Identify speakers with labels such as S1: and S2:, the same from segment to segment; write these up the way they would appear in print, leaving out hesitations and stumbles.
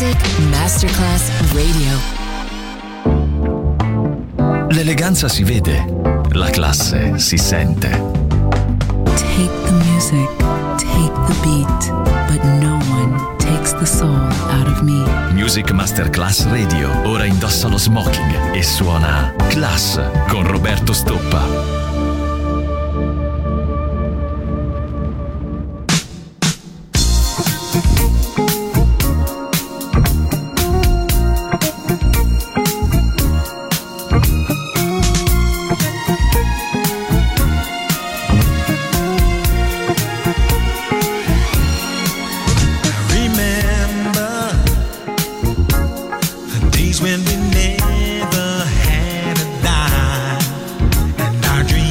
S1: Music Masterclass Radio.
S2: L'eleganza si vede, la classe si sente.
S3: Take the music, take the beat, but no one takes the soul out of me.
S2: Music Masterclass Radio. Ora indossa lo smoking e suona Class con Roberto Stoppa.
S4: When we never had a dime, and our dreams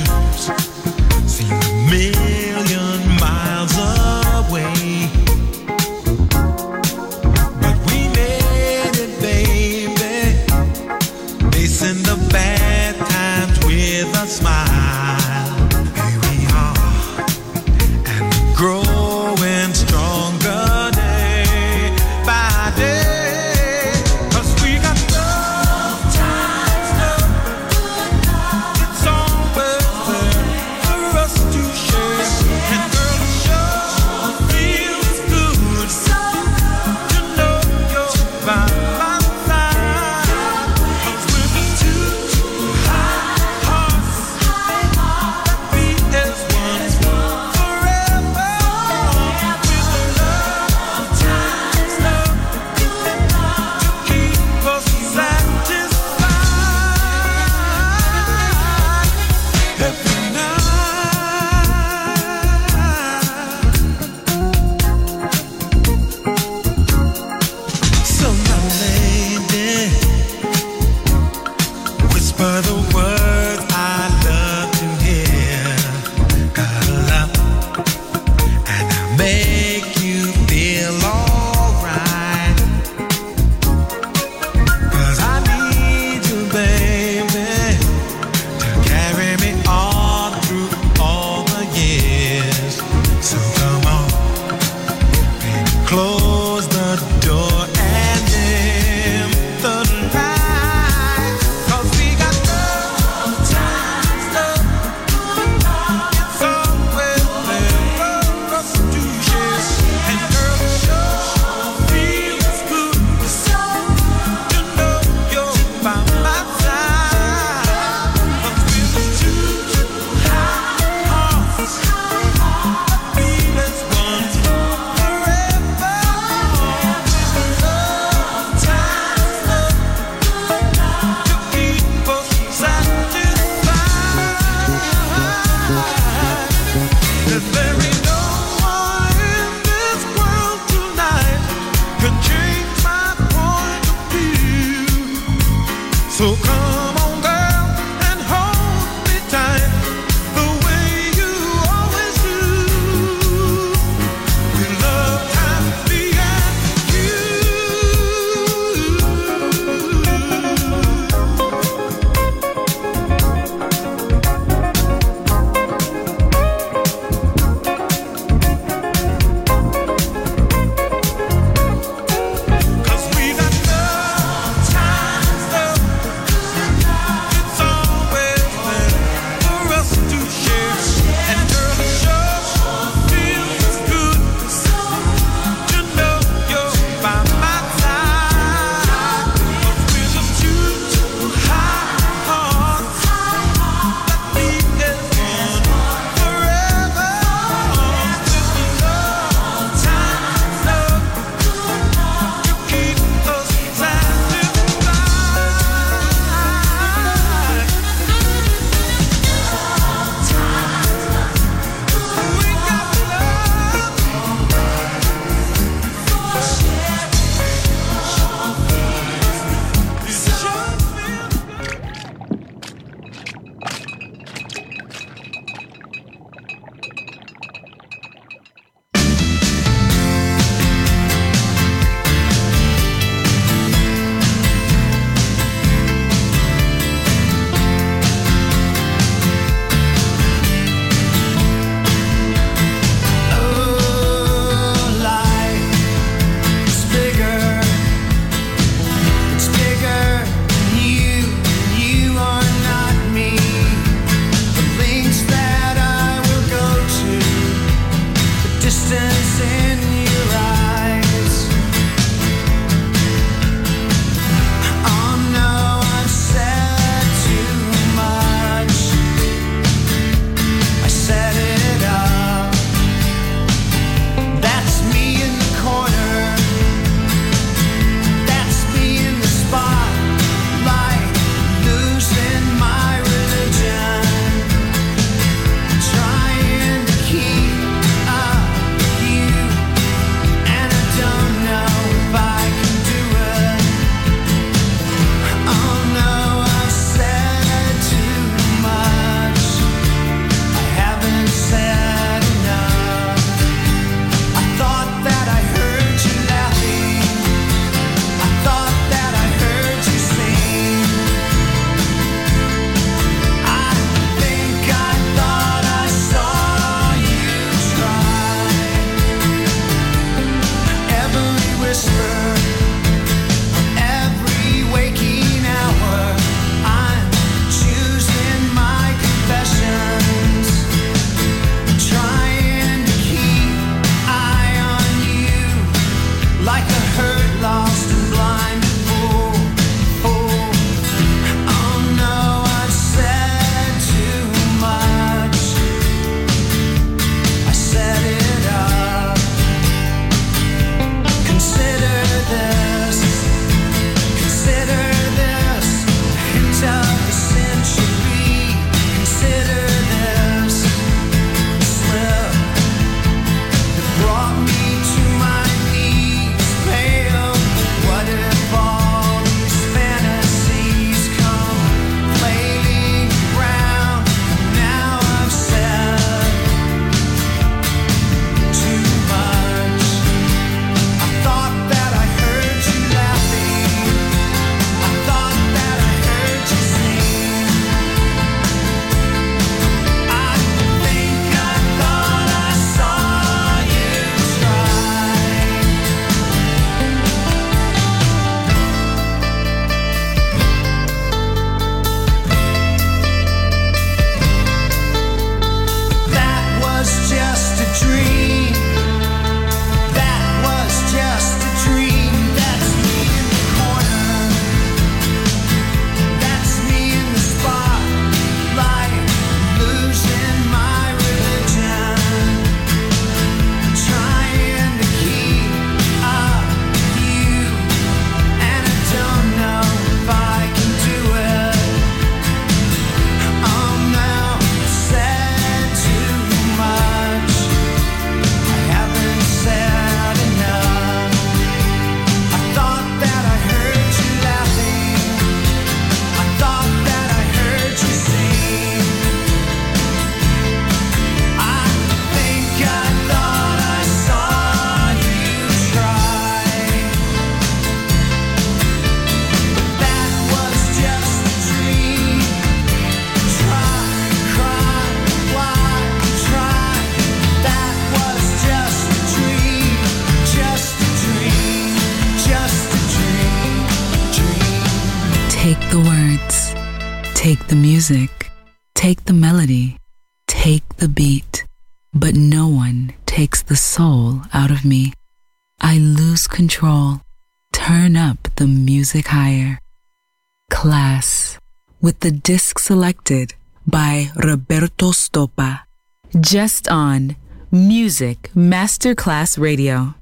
S3: the words, take the music, take the melody, take the beat, but no one takes the soul out of me. I lose control, turn up the music higher. Class, with the disc selected by Roberto Stoppa, just on Music Masterclass Radio.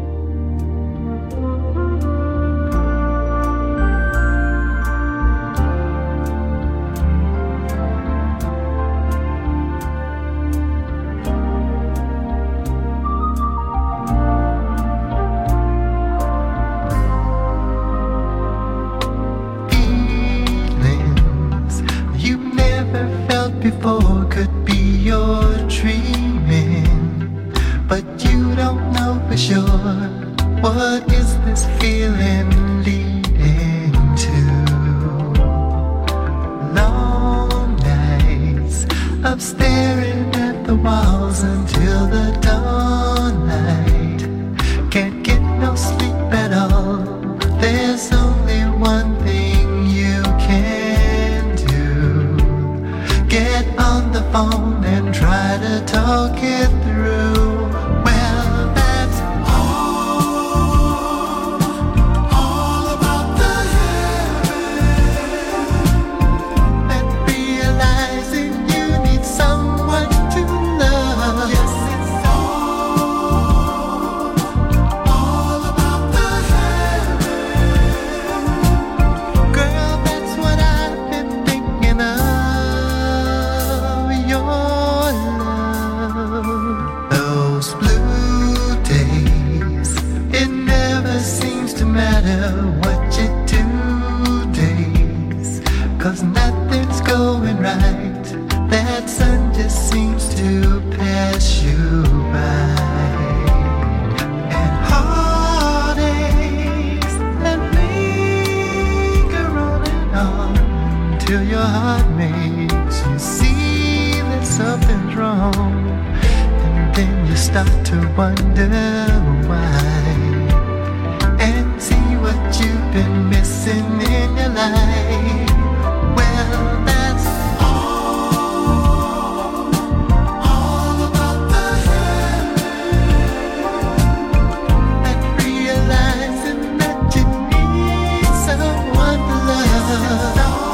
S4: Before could be your dreaming, but you don't know for sure. What is this feeling leading to? Long nights of staring at the walls until the dawnlight. Can't get no sleep at all. There's only one thing you can do. Get on the phone and try to talk it through. Well, that's all about the heaven. And realizing you need someone to love. Yes, it's all about the heaven. Girl, that's what I've been thinking of. Those blue days, it never seems to matter what you do days, 'cause nothing's going right. That sun just seems to pass you by. And heartaches that linger on till your heart makes you see that something's wrong. Then you start to wonder why, and see what you've been missing in your life. Well, that's all about the heaven. And realizing that you need someone to love.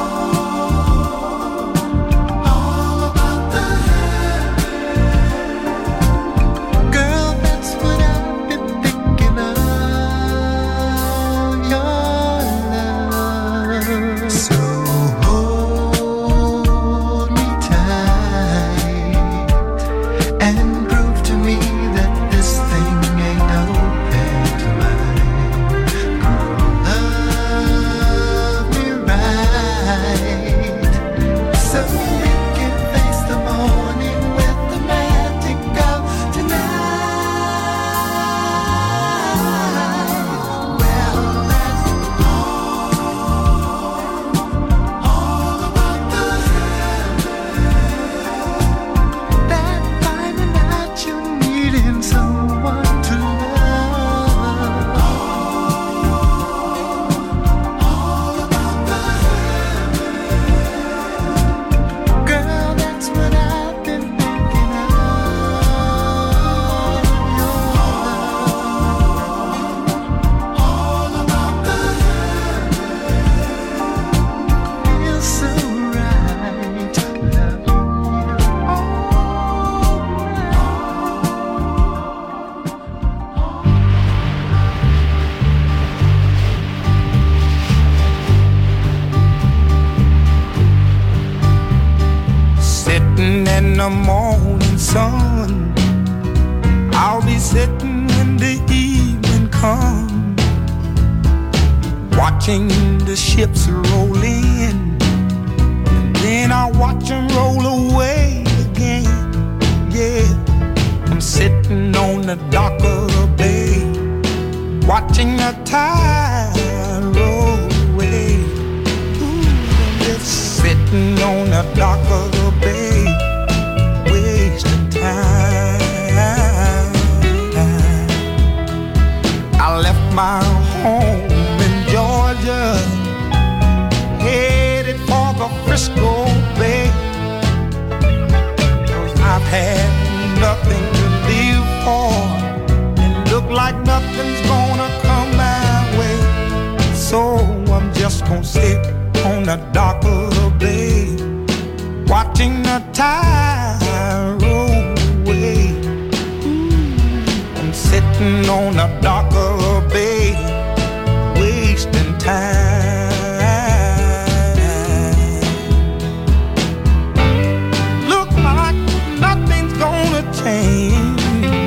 S5: In the morning sun, I'll be sitting when the evening comes, watching the ships roll in, and then I'll watch them roll away again. Yeah, I'm sitting on the dock of the bay, watching the tide roll away. Ooh, I'm just sitting on the dock of the bay, wasting time. I left my home in Georgia, hey, like nothing's gonna come my way. So I'm just gonna sit on the dock of the bay, watching the tide roll away. I'm sitting on the dock of the bay, wasting time. Look like nothing's gonna change.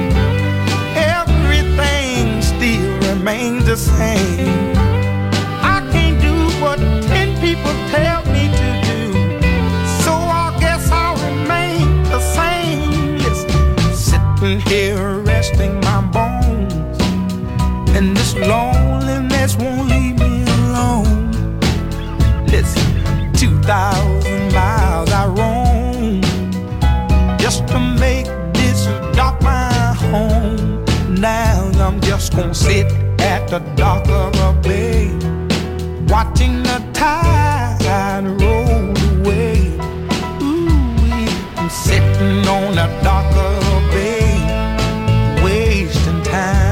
S5: Everything still remains the same. I can't do what 10 people tell me to do, so I guess I'll remain the same. Yes, sitting here resting my bones, and this loneliness won't leave me alone. Listen, 2,000 miles I roam just to make this dock my home. Now I'm just gonna sit at the dock of a bay, watching the tide roll away. Ooh, I'm sitting on the dock of a bay, wasting time.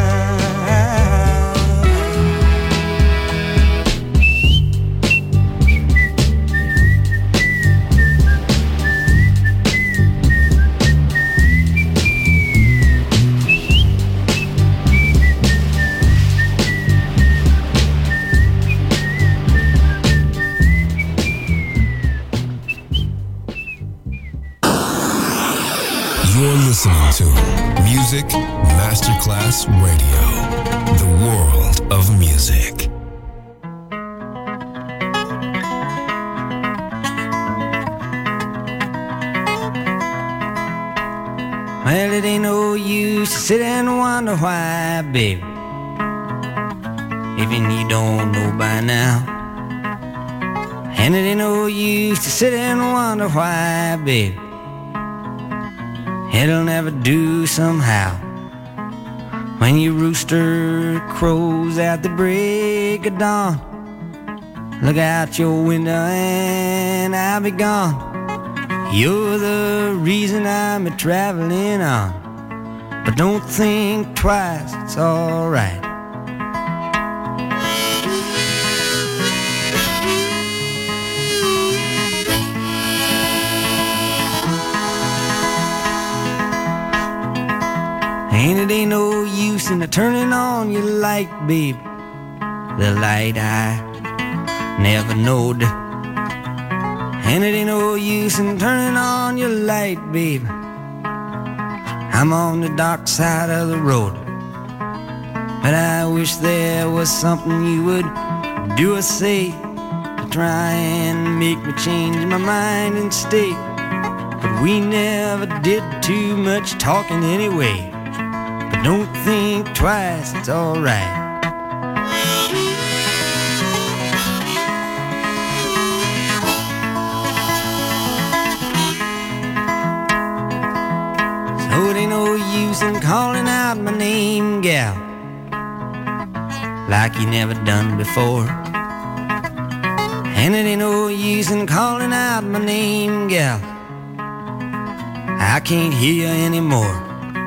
S6: You're listening to Music Masterclass Radio, the world of music.
S7: Well, it ain't no use to sit and wonder why, baby, even you don't know by now. And it ain't no use to sit and wonder why, baby, it'll never do somehow. When your rooster crows at the break of dawn, look out your window and I'll be gone. You're the reason I'm a-traveling on, but don't think twice, it's alright. And it ain't no use in turning on your light, babe, the light I never knowed. And it ain't no use in turning on your light, babe, I'm on the dark side of the road. But I wish there was something you would do or say to try and make me change my mind and stay. But we never did too much talking anyway. But don't think twice, it's alright. So it ain't no use in calling out my name, gal, like you never done before. And it ain't no use in calling out my name, gal, I can't hear you anymore.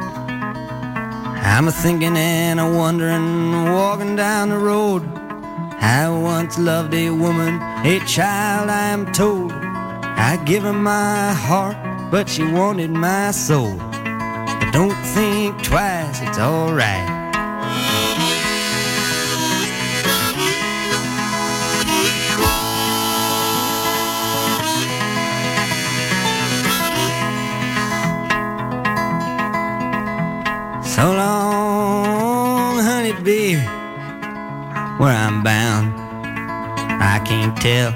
S7: I'm a-thinking and a-wondering, walking down the road. I once loved a woman, a child I am told. I give her my heart, but she wanted my soul. But don't think twice, it's alright. So long, honey, baby, where I'm bound, I can't tell.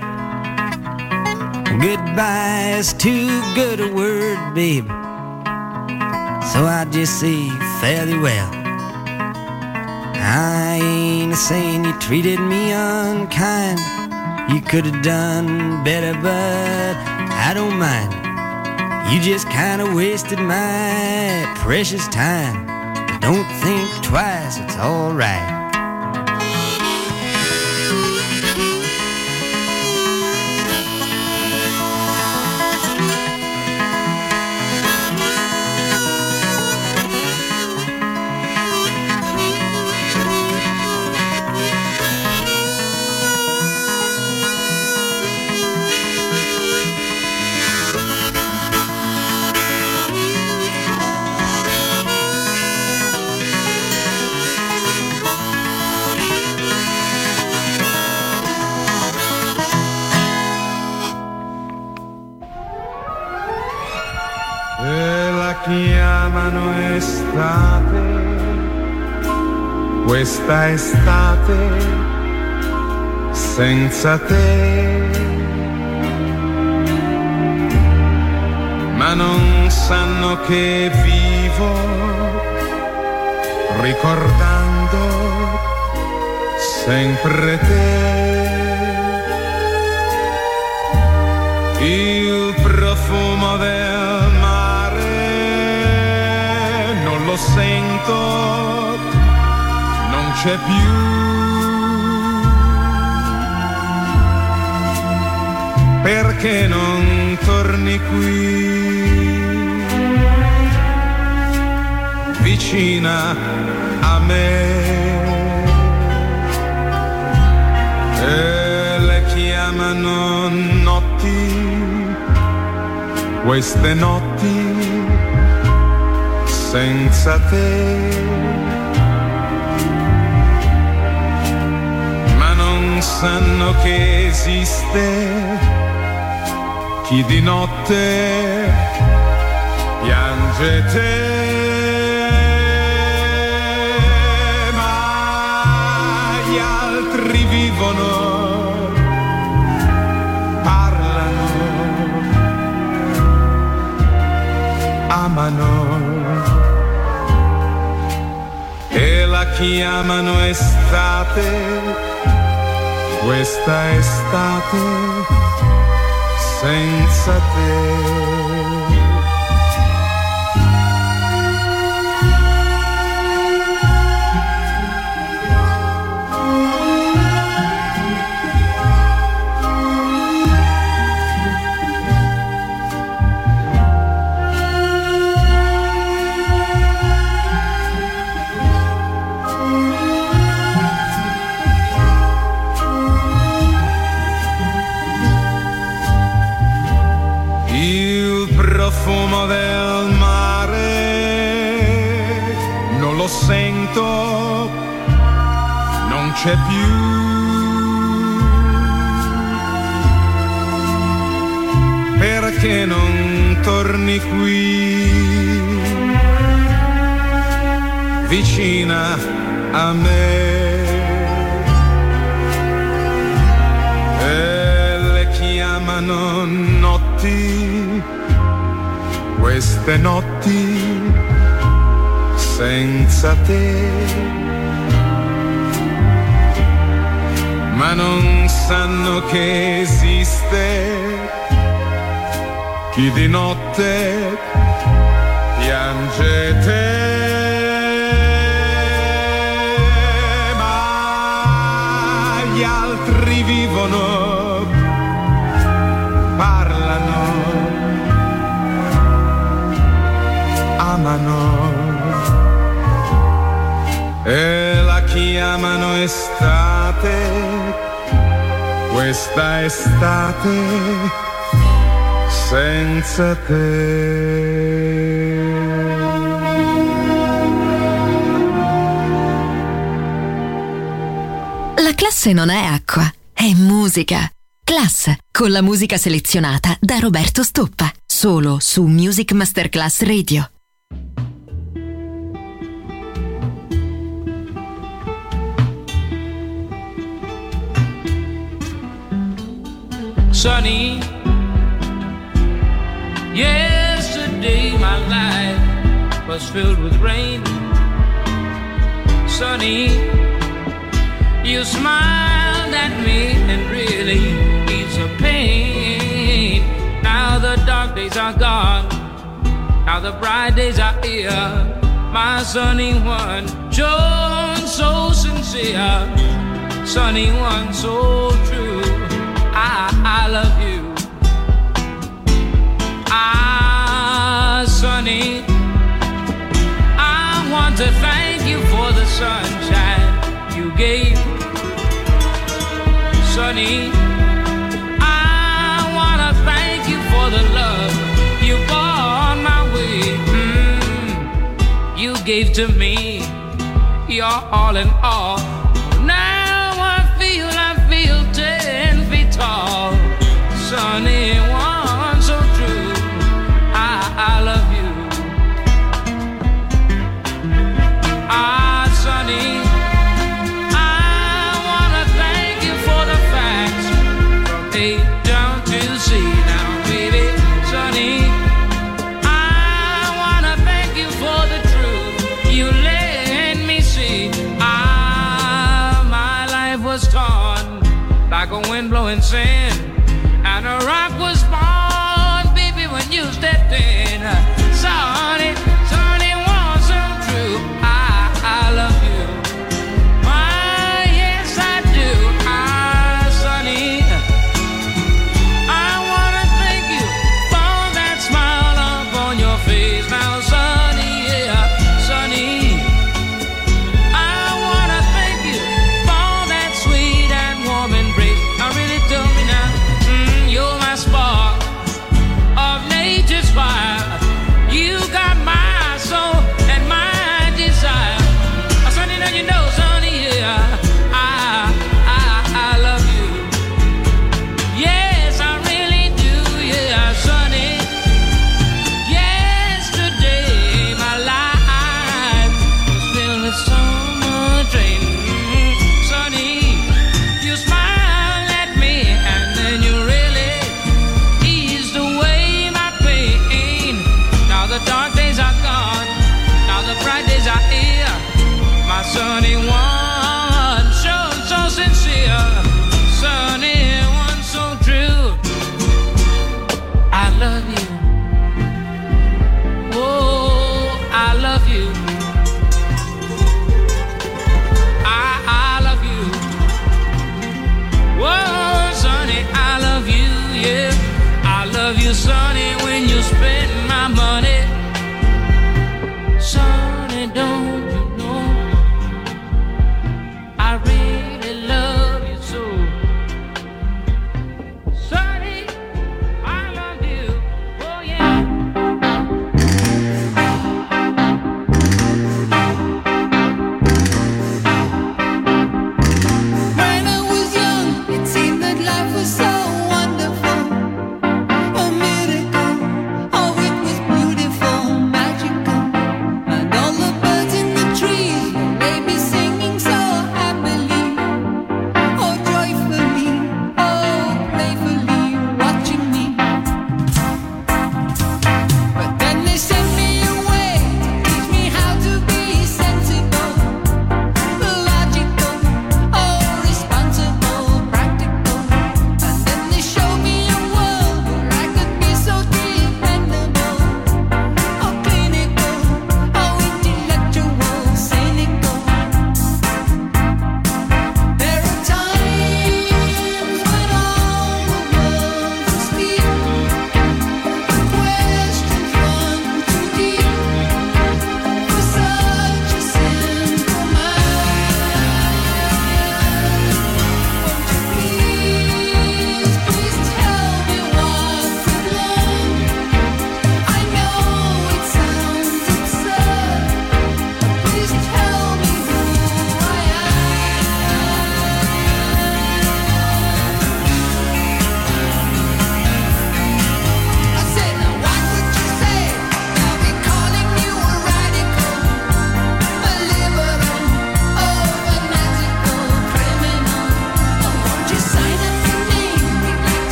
S7: Goodbye is too good a word, baby, so I just say fairly well. I ain't saying you treated me unkind, you could have done better, but I don't mind. You just kinda wasted my precious time. Don't think twice, it's alright.
S5: chiamano estate, questa estate senza te, ma non sanno che vivo ricordando sempre te. Il profumo del mare non lo sento, non c'è più. Perché non torni qui, vicina a me? E le chiamano notti, queste notti senza te, ma non sanno che esiste chi di notte piange te, ma gli altri vivono, parlano, amano e la chiamano estate, questa estate senza te. Profumo del mare non lo sento, non c'è più. Perché non torni qui, vicina a me? E le chiamano notti, queste notti senza te, ma non sanno che esiste chi di notte piange te, ma gli altri vivono, parlano, amano e la chiamano estate, questa estate senza te.
S1: La classe non è acqua, è musica. Class, con la musica selezionata da Roberto Stoppa, solo su Music Masterclass Radio.
S8: Sunny, yesterday my life was filled with rain. Sunny, you smiled at me and really eased the pain. Now the dark days are gone, now the bright days are here. My sunny one, shown so sincere, sunny one so true. I love you. Sunny, I want to thank you for the sunshine you gave. Sunny, I want to thank you for the love you brought my way. You gave to me your all in all. Now I feel 10 feet tall. Sunny one so true, I love you. like a wind blowing sand. And a rock was born, baby, when you stepped in. Sonny, Sonny wasn't true. I love you. Why, yes, I do. Sonny, I wanna thank you for that smile upon your face. Now, Sonny, yeah, Sonny, I wanna thank you for that sweet and warm embrace. Now, really tell me now, you're my spark.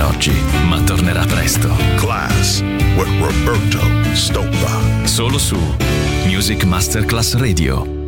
S2: oggi, ma tornerà presto.
S9: Class with Roberto Stoppa.
S2: Solo su Music Masterclass Radio.